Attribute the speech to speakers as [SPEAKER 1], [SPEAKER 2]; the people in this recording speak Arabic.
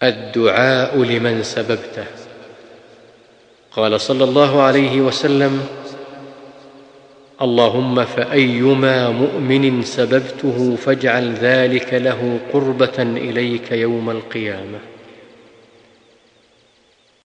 [SPEAKER 1] الدعاء لمن سببته. قال صلى الله عليه وسلم: اللهم فأيما مؤمن سببته فاجعل ذلك له قربة إليك يوم القيامة.